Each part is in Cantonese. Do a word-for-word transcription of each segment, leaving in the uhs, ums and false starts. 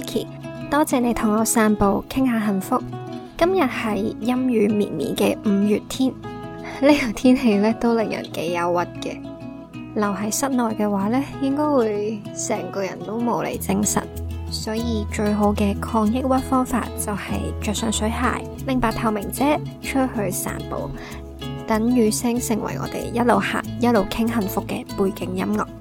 Vicky， 多謝你同我散步傾下幸福。今日係陰雨綿綿嘅五月天，呢個天氣咧都令人幾憂鬱嘅。留喺室內嘅話咧，應該會成個人都冇嚟精神，所以最好嘅抗抑鬱方法就係着上水鞋，拎把透明遮出去散步，等雨聲成為我哋一路行一路傾幸福嘅背景音樂。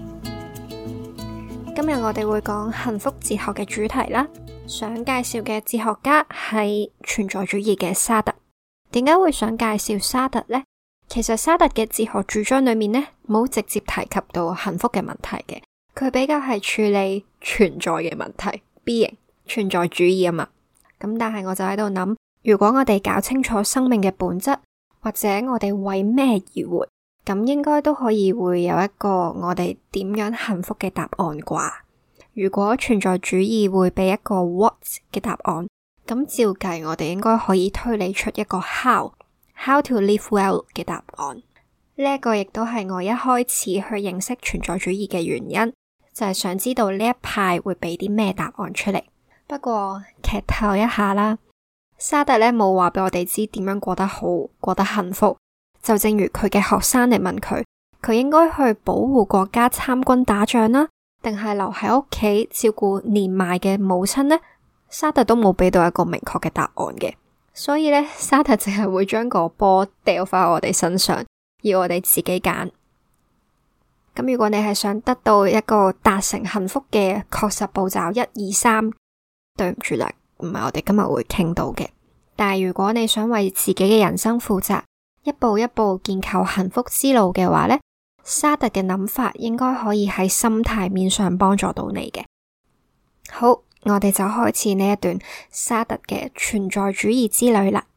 今日我哋會講幸福哲學嘅主題啦，想介紹嘅哲學家係存在主義嘅沙特。點解會想介紹沙特呢？其實沙特嘅哲學主張裏面呢，冇直接提及到幸福嘅問題嘅，佢比較係處理存在嘅問題 ，being 存在主義啊嘛。咁但係我就喺度諗，如果我哋搞清楚生命嘅本質，或者我哋為咩而活，咁應該都可以會有一個我哋點樣幸福嘅答案啩。如果存在主義會俾一個 what 嘅答案，咁照計我哋應該可以推理出一個 how how to live well 嘅答案。呢一個亦都係我一開始去認識存在主義嘅原因，就係想知道呢一派會俾啲咩答案出嚟。不過劇透一下啦，沙特咧冇話俾我哋知點樣過得好，過得幸福。就正如佢嘅學生嚟問佢，佢應該去保護國家參軍打仗啦，定係留喺屋企照顧年邁嘅母親呢？沙特都冇俾到一個明確嘅答案嘅，所以咧沙特淨係會將個波掉返我哋身上，要我哋自己揀。咁如果你係想得到一個達成幸福嘅確實步驟一二三，對唔住啦，唔係我哋今日會傾到嘅。但係如果你想為自己嘅人生負責，一步一步建構幸福之路嘅話呢，沙特嘅諗法應該可以喺心態面上幫助到你嘅。好，我哋就開始呢一段沙特嘅存在主義之旅啦。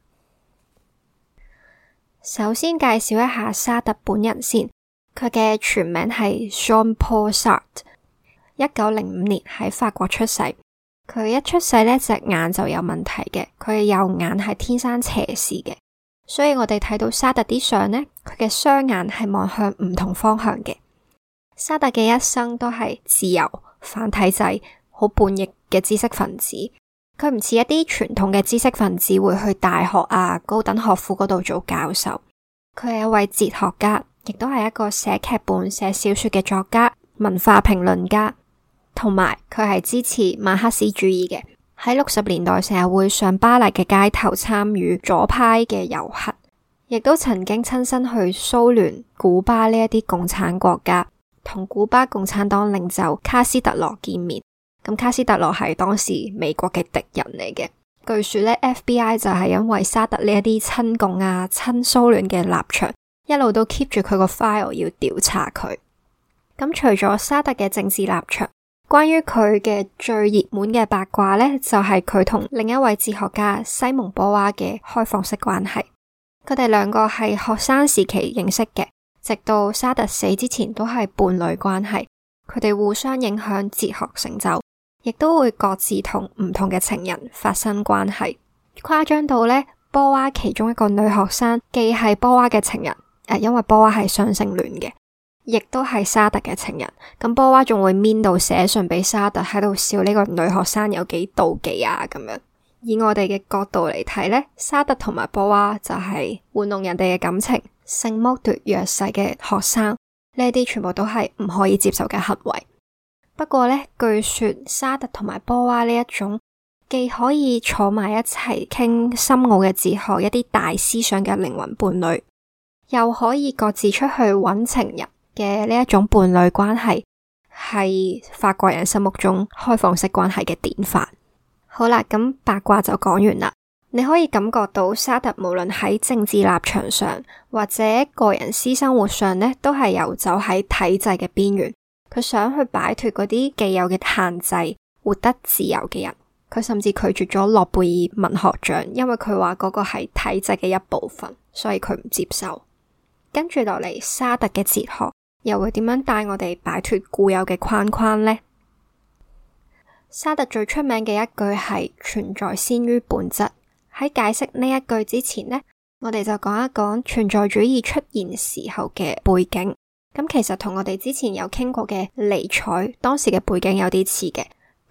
首先介紹一下沙特本人先，佢嘅全名係 Jean-Paul Sartre， 一九零五年喺法國出世。佢一出世呢隻眼就有問題嘅，佢嘅右眼係天生斜視嘅。所以我哋睇到沙特啲相呢，佢嘅雙眼係望向唔同方向嘅。沙特嘅一生都係自由、反體制、好叛逆嘅知識分子。佢唔似一啲傳統嘅知識分子會去大學啊、高等學府嗰度做教授。佢係一位哲學家，亦都係一個寫劇本、寫小說嘅作家、文化評論家，同埋佢係支持馬克思主義嘅。喺六十年代成日會上巴黎嘅街頭參與左派嘅遊行，亦都曾經親身去蘇聯、古巴呢一啲共產國家，同古巴共產黨領袖卡斯特羅見面。咁卡斯特羅係當時美國嘅敵人嚟嘅。據說呢 F B I 就係因為沙特呢一啲親共啊、親蘇聯嘅立場，一路都 keep 住佢個 file 要調查佢。咁除咗沙特嘅政治立場，關於佢嘅最熱門嘅八卦呢，就係佢同另一位哲學家西蒙波娃嘅開放式關係。佢哋兩個係學生時期認識嘅，直到沙特死之前都係伴侶關係。佢哋互相影響哲學成就，亦都會各自同唔同嘅情人發生關係。誇張到呢，波娃其中一個女學生既係波娃嘅情人，誒，因為波娃係雙性戀嘅，亦都係沙特嘅情人。咁波娃仲會面到寫信俾沙特，喺度笑呢個女學生有幾妒忌啊咁樣。以我哋嘅角度嚟睇呢，沙特同埋波娃就係玩弄人哋嘅感情、性剝奪弱勢嘅學生，呢啲全部都係唔可以接受嘅行為。不過呢，據說沙特同埋波娃呢一種既可以坐埋一齊傾深奧嘅哲學、一啲大思想嘅靈魂伴侶，又可以各自出去揾情人嘅呢一種伴侶關係，係法國人心目中開放式關係嘅典範。好啦，咁八卦就講完啦。你可以感覺到沙特無論喺政治立場上或者個人私生活上呢，都係游走喺體制嘅邊緣。佢想去擺脫嗰啲既有嘅限制，活得自由嘅人。佢甚至拒絕咗諾貝爾文學獎，因為佢話嗰個係體制嘅一部分，所以佢唔接受。跟住落嚟，沙特嘅哲學又會點樣帶我哋擺脫固有嘅框框呢？沙特最出名嘅一句係存在先於本質。喺解釋呢一句之前呢，我哋就講一講存在主義出現時候嘅背景。咁其實同我哋之前有傾過嘅尼采當時嘅背景有啲似嘅，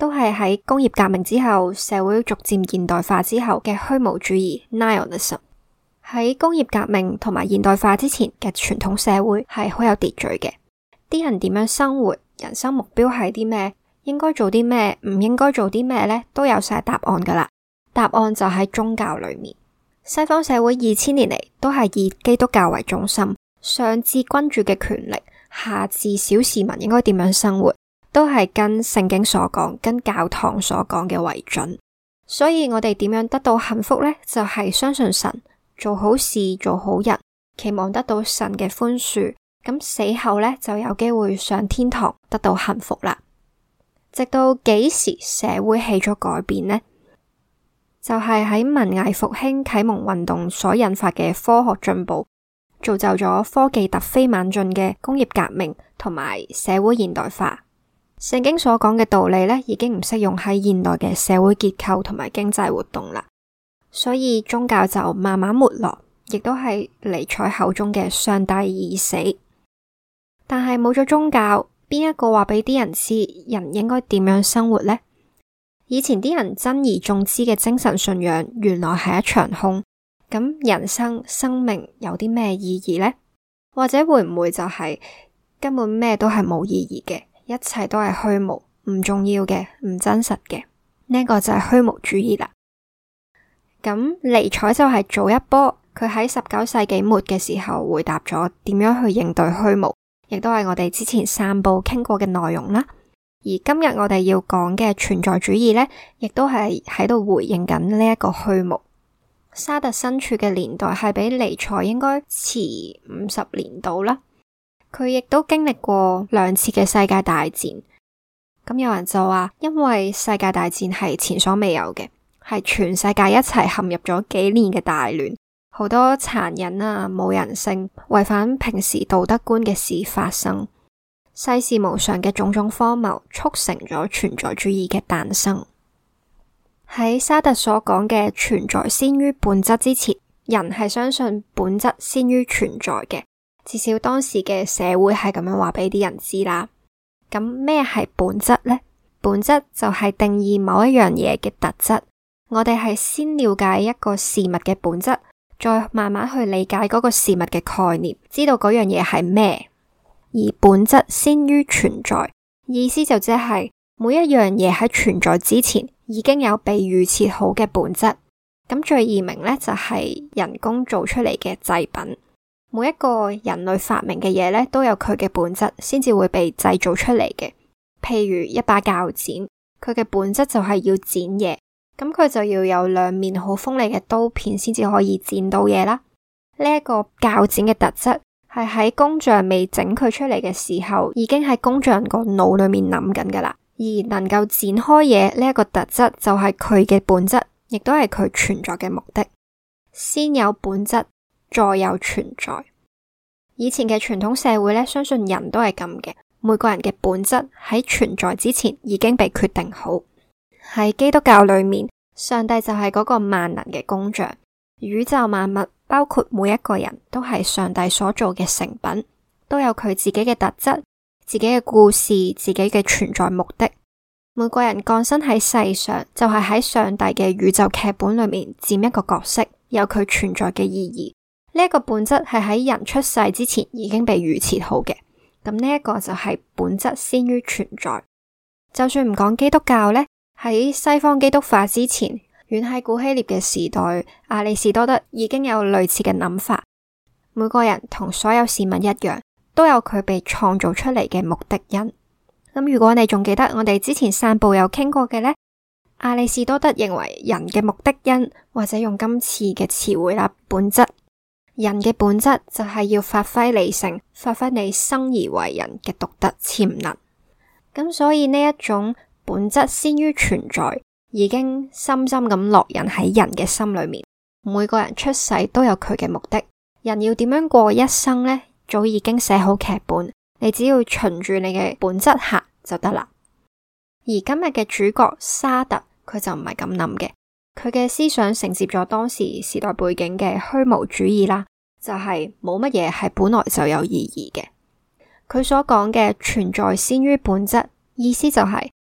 都係喺工業革命之後，社會逐漸現代化之後嘅虛無主義 Nihilism。喺工業革命同埋現代化之前嘅傳統社會係好有秩序嘅，啲人點樣生活，人生目標係啲咩，應該做啲咩，唔應該做啲咩呢，都有晒答案噶啦。答案就喺宗教裏面。西方社會二千年嚟都係以基督教為中心，上至君主嘅權力，下至小市民應該點樣生活，都係跟聖經所講，跟教堂所講嘅為準。所以我哋點樣得到幸福呢？就係相信神，做好事，做好人，期望得到神嘅寬恕，咁死後呢，就有機會上天堂，得到幸福啦。直到幾時社會起咗改變呢？就係喺文藝復興啟蒙運動所引發嘅科學進步，造就咗科技突飛猛進嘅工業革命同埋社會現代化。聖經所講嘅道理呢，已經唔適用喺現代嘅社會結構同埋經濟活動啦。所以宗教就慢慢沒落，亦都係尼采口中嘅上帝已死。但係冇咗宗教，邊一個話俾啲人知人應該點樣生活呢？以前啲人珍而重之嘅精神信仰，原來係一場空。咁人生生命有啲咩意義呢？或者會唔會就係根本咩都係冇意義嘅，一切都係虛無，唔重要嘅，唔真實嘅？呢個就係虛無主義啦。咁尼采就係早一波，佢喺十九世紀末嘅時候回答咗點樣去應對虛無，亦都係我哋之前散步傾過嘅內容啦。而今日我哋要講嘅存在主義呢，亦都係喺度回應緊呢一個虛無。沙特身處嘅年代係比尼采應該遲五十年度啦，佢亦都經歷過兩次嘅世界大戰。咁有人就話，因為世界大戰係前所未有嘅，係全世界一齊陷入咗幾年嘅大亂，好多殘忍啊、冇人性、違反平時道德觀嘅事發生。世事無常嘅種種荒謬，促成咗存在主義嘅誕生。喺沙特所講嘅存在先於本質之前，人係相信本質先於存在嘅，至少當時嘅社會係咁樣話俾啲人知啦。咁咩係本質呢？本質就係定義某一樣嘢嘅特質。我哋係先了解一個事物嘅本質，再慢慢去理解嗰個事物嘅概念，知道嗰樣嘢係咩。而本質先於存在，意思就即係每一樣嘢喺存在之前已經有被預設好嘅本質。咁最易明呢，就係人工做出嚟嘅製品，每一個人類發明嘅嘢呢，都有佢嘅本質先至會被製造出嚟嘅。譬如一把鉸剪，佢嘅本質就係要剪嘢，咁佢就要有兩面好鋒利嘅刀片先至可以剪到嘢啦。呢一個鉸剪嘅特質係喺工匠未整佢出嚟嘅時候，已經喺工匠個腦裏面諗緊噶啦。而能夠剪開嘢呢一個特質，就係佢嘅本質，亦都係佢存在嘅目的。先有本質，再有存在。以前嘅傳統社會呢，相信人都係咁嘅，每個人嘅本質喺存在之前已經被決定好。喺基督教裏面，上帝就係嗰個萬能嘅工匠，宇宙萬物，包括每一個人都係上帝所做嘅成品，都有佢自己嘅特質、自己嘅故事、自己嘅存在目的。每個人降生喺世上，就係喺上帝嘅宇宙劇本裏面佔一個角色，有佢存在嘅意義。呢一個本質係喺人出世之前已經被預設好嘅。咁呢一個就係本質先於存在。就算唔講基督教呢，喺西方基督化之前，遠喺古希臘嘅時代，亞里士多德已經有類似嘅諗法。每個人同所有事物一樣，都有佢被創造出嚟嘅目的因。咁如果你仲記得我哋之前散步有傾過嘅呢，亞里士多德認為人嘅目的因，或者用今次嘅詞彙啦，本質。人嘅本質就係要發揮理性，發揮你生而為人嘅獨特潛能。咁所以呢一種本質先於存在，已經深深咁烙印喺人嘅心裏面。每個人出世都有佢嘅目的，人要點樣過一生呢？早已經寫好劇本，你只要循住你嘅本質行就得啦。而今日嘅主角沙特，佢就唔係咁諗嘅。佢嘅思想承接咗當時時代背景嘅虛無主義啦，就係冇乜嘢係本來就有意義嘅。佢所講嘅存在先於本質，意思就係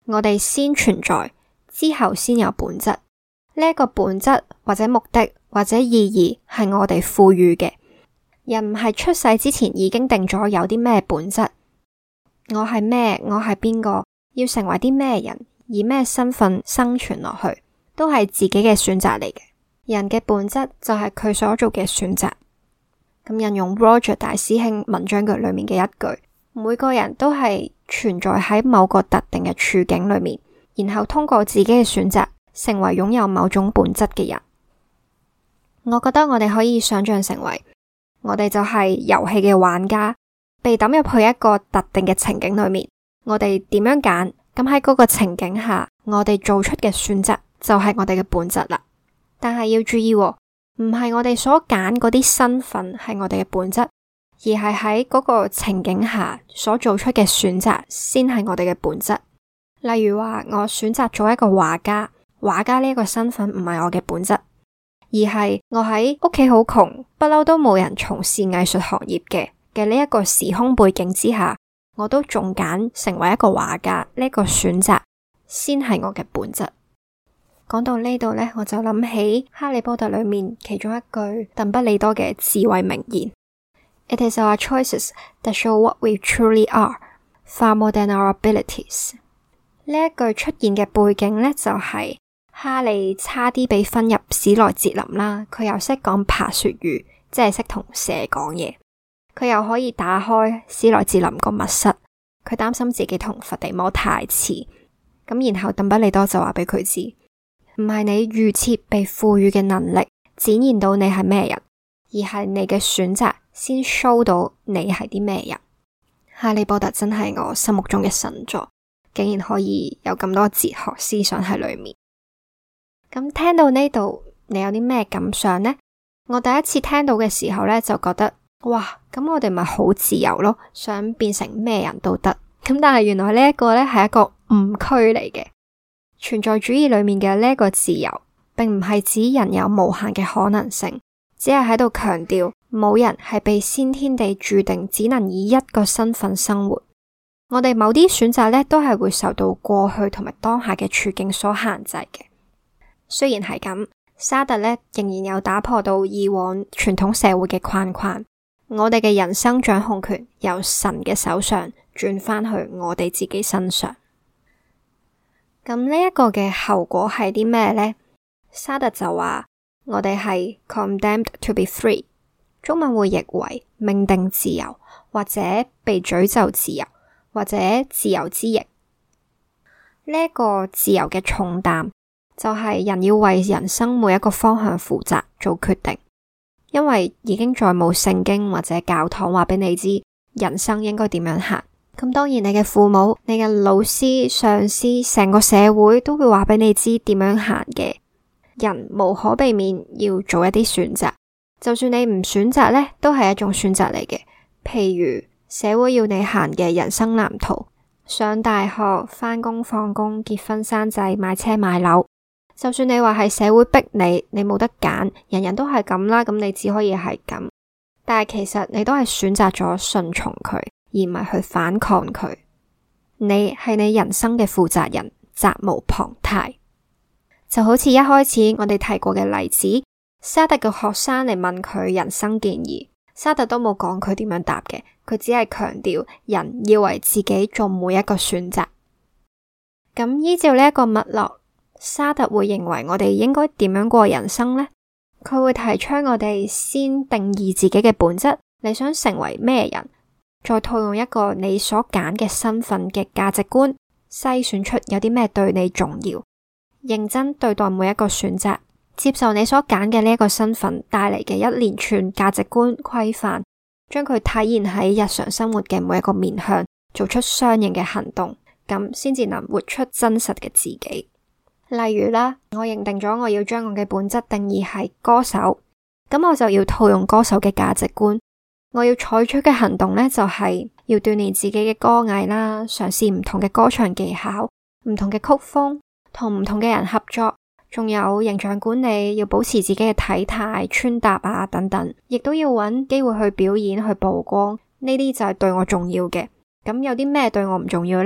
我哋先存在，之後先有本質。呢一個本質或者目的或者意義係我哋賦予嘅。人唔係出世之前已經定咗有啲咩本質，我係咩，我係邊個，要成為啲咩人，以咩身份生存落去，都係自己嘅選擇嚟嘅。人嘅本質就係佢所做嘅選擇。咁引用 Roger 大師兄文章句裏面嘅一句，每個人都係存在喺某個特定嘅處境裏面，然後通過自己嘅選擇成為擁有某種本質嘅人。我覺得我哋可以想象成為我哋就係遊戲嘅玩家，被抌入去一個特定嘅情景裏面，我哋點樣揀？咁喺嗰個情景下，我哋做出嘅選擇就係我哋嘅本質啦。但係要注意喎，唔係我哋所揀嗰啲身份係我哋嘅本質，而係喺嗰個情景下所做出嘅選擇先係我哋嘅本質。例如話，我選擇做一個畫家，畫家呢個身份唔係我嘅本質，而係我喺屋企好窮，不嬲都冇人從事藝術行業嘅嘅呢一個時空背景之下，我都仲揀成為一個畫家，呢個選擇先係我嘅本質。講到呢度呢，我就諗起哈利波特裏面其中一句鄧不利多嘅智慧名言 ：It is our choices that show what we truly are, far more than our abilities。呢一句出現嘅背景呢，就係、是、哈利差啲被分入史萊哲林啦，佢又識講爬雪語，即係識同蛇講嘢，佢又可以打開史萊哲林個密室，佢擔心自己同伏地魔太似，咁然後鄧不利多就話俾佢知。唔係你預設被賦予嘅能力展現到你係咩人，而係你嘅選擇先 show 到你係啲咩人。哈利波特真係我心目中嘅神作，竟然可以有咁多哲學思想喺裏面。咁聽到呢度，你有啲咩感想呢？我第一次聽到嘅時候呢，就覺得哇，咁我哋咪好自由咯，想變成咩人都得。咁但係原來呢一個呢係一個誤區嚟嘅。存在主義裏面嘅呢個自由，並唔係指人有無限嘅可能性，只係喺度強調冇人係被先天地注定只能以一個身份生活。我哋某啲選擇呢，都係會受到過去同埋當下嘅處境所限制嘅。雖然係咁，沙特呢仍然有打破到以往傳統社會嘅框框，我哋嘅人生掌控權由神嘅手上轉返去我哋自己身上。咁呢一個嘅後果係啲咩呢？沙特就話我哋係 condemned to be free， 中文會譯為命定自由，或者被詛咒自由，或者自由之翼。呢一個自由嘅重擔就係人要為人生每一個方向負責做決定，因為已經再冇聖經或者教堂話俾你知人生應該點樣行。咁當然你嘅父母、你嘅老師、上司、成個社會都會話俾你知點樣行嘅。人無可避免要做一啲選擇，就算你唔選擇呢，都係一種選擇嚟嘅。譬如社會要你行嘅人生藍圖，上大學、返工放工、結婚生仔、買車買樓，就算你話係社會逼你，你冇得揀，人人都係咁啦，咁你只可以係咁。但係其實你都係選擇咗順從佢，而唔係去反抗佢。你係你人生嘅負責人，責無旁貸。就好似一開始我哋提過嘅例子，沙特嘅學生嚟問佢人生建議，沙特都冇講佢點樣答嘅，佢只係強調人要為自己做每一個選擇。咁依照呢一個脈絡，沙特會認為我哋應該點樣過人生呢？佢會提倡我哋先定義自己嘅本質，你想成為咩人，再套用一個你所揀嘅身份嘅價值觀，篩選出有啲咩對你重要，認真對待每一個選擇，接受你所揀嘅呢一個身份帶嚟嘅一連串價值觀規範，將佢體現喺日常生活嘅每一個面向，做出相應嘅行動，咁先至能活出真實嘅自己。例如啦，我認定咗我要將我嘅本質定義係歌手，咁我就要套用歌手嘅價值觀。我要採取嘅行動呢，就係要鍛煉自己嘅歌藝啦，嘗試唔同嘅歌唱技巧、唔同嘅曲風，同唔同嘅人合作，仲有形象管理，要保持自己嘅體態、穿搭啊等等，亦都要揾機會去表演、去曝光，呢啲就係對我重要嘅。咁有啲咩對我唔重要呢？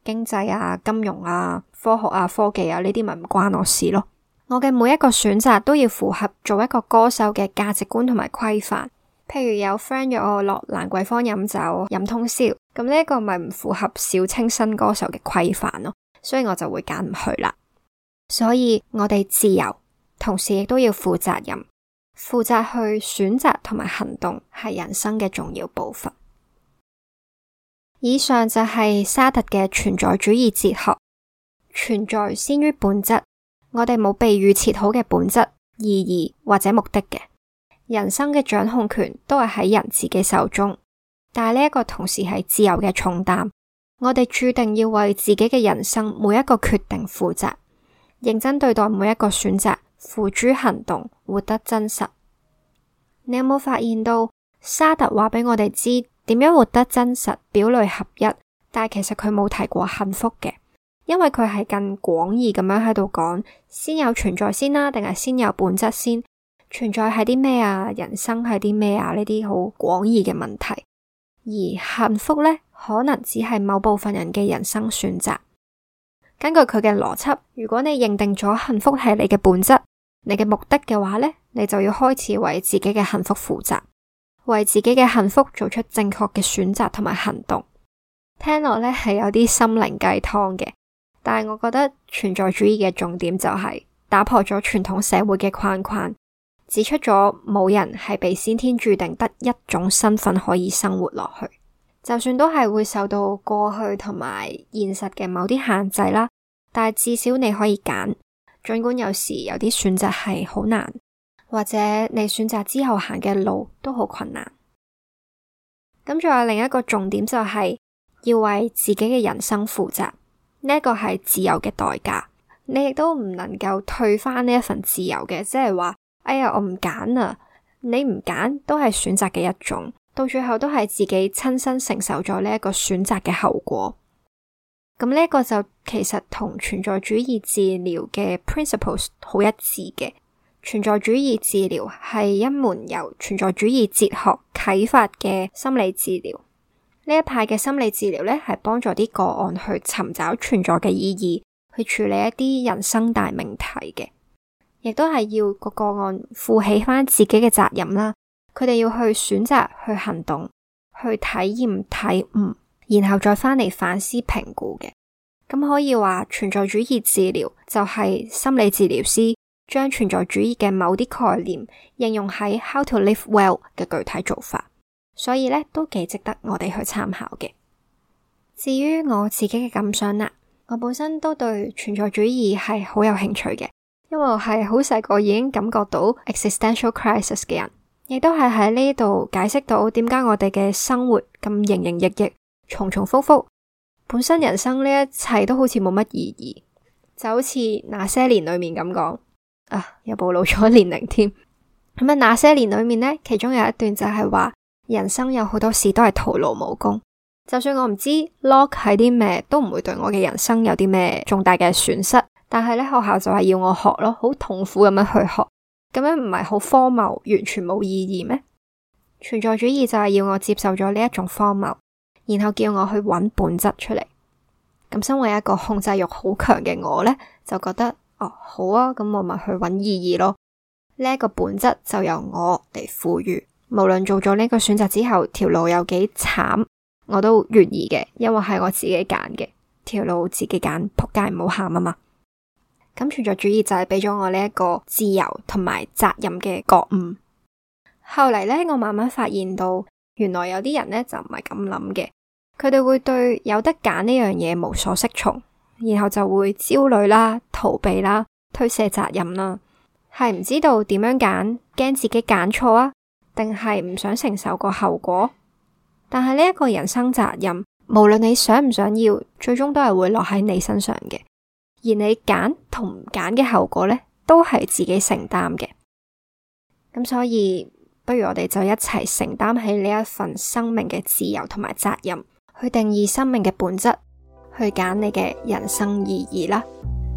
經濟啊、金融啊、科學啊、科技啊呢啲咪唔關我事咯。我嘅每一個選擇都要符合做一個歌手嘅價值觀同埋規範。譬如有 friend 約我落蘭桂坊飲酒飲通宵，咁呢一個咪唔符合小清新歌手嘅規範咯，所以我就會揀唔去啦。所以我哋自由，同時亦都要負責任，負責去選擇同埋行動係人生嘅重要部分。以上就係沙特嘅存在主義哲學，存在先於本質。我哋冇被預設好嘅本質、意義或者目的嘅。人生嘅掌控權都係喺人自己手中，但係呢一個同時係自由嘅重擔。我哋注定要為自己嘅人生每一個決定負責，認真對待每一個選擇，付諸行動，活得真實。你有冇發現到沙特話俾我哋知點樣活得真實、表裏合一，但係其實佢冇提過幸福嘅，因為佢係更廣義咁樣喺度講，先有存在先啦，定係先有本質先？存在係啲咩啊？人生係啲咩啊？呢啲好廣義嘅問題，而幸福呢，可能只係某部分人嘅人生選擇。根據佢嘅邏輯，如果你認定咗幸福係你嘅本質、你嘅目的嘅話呢，你就要開始為自己嘅幸福負責，為自己嘅幸福做出正確嘅選擇同埋行動。聽落呢係有啲心靈雞湯嘅，但係我覺得存在主義嘅重點就係打破咗傳統社會嘅框框，指出咗冇人係被先天注定得一種身份可以生活落去，就算都係會受到過去同埋現實嘅某啲限制啦，但係至少你可以揀，儘管有時有啲選擇係好難，或者你選擇之後行嘅路都好困難。咁仲有另一個重點就係要為自己嘅人生負責，呢一個係自由嘅代價，你亦都唔能夠退翻呢一份自由嘅，即係話哎呀，我唔揀啊！你唔揀都係選擇嘅一種，到最後都係自己親身承受咗呢一個選擇嘅後果。咁呢一個就其實同存在主義治療嘅 principles 好一致嘅。存在主義治療係一門由存在主義哲學啟發嘅心理治療。呢一派嘅心理治療呢，係幫助啲個案去尋找存在嘅意義，去處理一啲人生大命題嘅。亦都係要個個案負起翻自己嘅責任啦，佢哋要去選擇、去行動、去體驗、體悟，然後再翻嚟反思評估嘅。咁可以話存在主義治療就係心理治療師將存在主義嘅某啲概念應用喺 How to Live Well 嘅具體做法，所以呢都幾值得我哋去參考嘅。至於我自己嘅感想啦，我本身都對存在主義係好有興趣嘅。因為我係好細個已經感覺到 existential crisis 嘅人，亦都係喺呢度解釋到點解我哋嘅生活咁營營役役、重重複複，本身人生呢一切都好似冇乜意義，就好似那些年裏面咁講啊，又暴露咗年齡添。咁啊，那些年裏面呢，其中有一段就係話人生有好多事都係徒勞無功，就算我唔知 log 係啲咩，都唔會對我嘅人生有啲咩重大嘅損失。但係咧，學校就係要我學咯，好痛苦咁樣去學，咁樣唔係好荒謬，完全冇意義咩？存在主義就係要我接受咗呢一種荒謬，然後叫我去揾本質出嚟。咁身為一個控制欲好強嘅我呢，就覺得哦好啊，咁我咪去揾意義咯。呢一個本質就由我嚟賦予，無論做咗呢個選擇之後，條路有幾慘，我都願意嘅，因為係我自己揀嘅，條路自己揀，仆街唔好喊啊嘛。咁存在主義就係俾咗我呢一個自由同埋責任嘅覺悟。後嚟呢，我慢慢發現到，原來有啲人呢就唔係咁諗嘅，佢哋會對有得揀呢樣嘢無所適從，然後就會焦慮啦、逃避啦、推卸責任啦，係唔知道點樣揀，驚自己揀錯啊，定係唔想承受個後果。但係呢一個人生責任，無論你想唔想要，最終都係會落喺你身上嘅。而你揀同唔揀嘅後果呢，都係自己承擔嘅。咁所以，不如我哋就一齊承擔起呢一份生命嘅自由同埋責任，去定義生命嘅本質，去揀你嘅人生意義啦。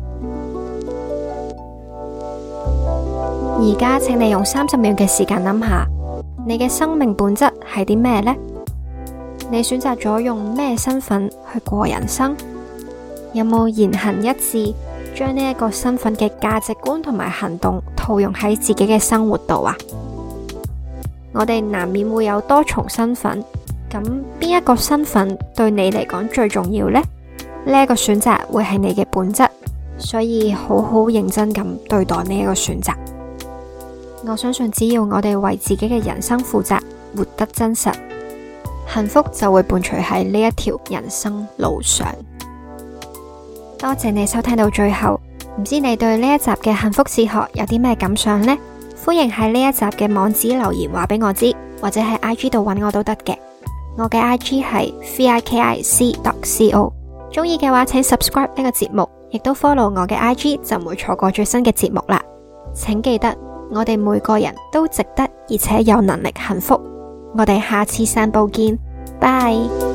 而家請你用三十秒嘅時間諗下，你嘅生命本質係啲咩呢？你選擇咗用咩身份去過人生？ 有冇言行一致，將呢一個身份嘅價值觀同埋行動套用喺自己嘅生活度啊？我哋難免會有多重身份，咁邊一個身份對你嚟講最重要呢？呢一個選擇會係你嘅本質，所以好好認真咁對待呢一個選擇。我相信只要我哋為自己嘅人生負責，活得真實，幸福就會伴隨喺呢一條人生路上。多謝你收聽到最後，唔知你對呢一集嘅幸福哲學有啲咩感想呢？歡迎喺呢一集嘅網址留言話俾我知，或者喺 I G 度揾我都得嘅。我嘅 I G 係 vikic dot co。中意嘅話，請 subscribe 呢個節目，亦都 follow 我嘅 I G， 就唔會錯過最新嘅節目啦。請記得，我哋每個人都值得而且有能力幸福。我哋下次散步見，拜。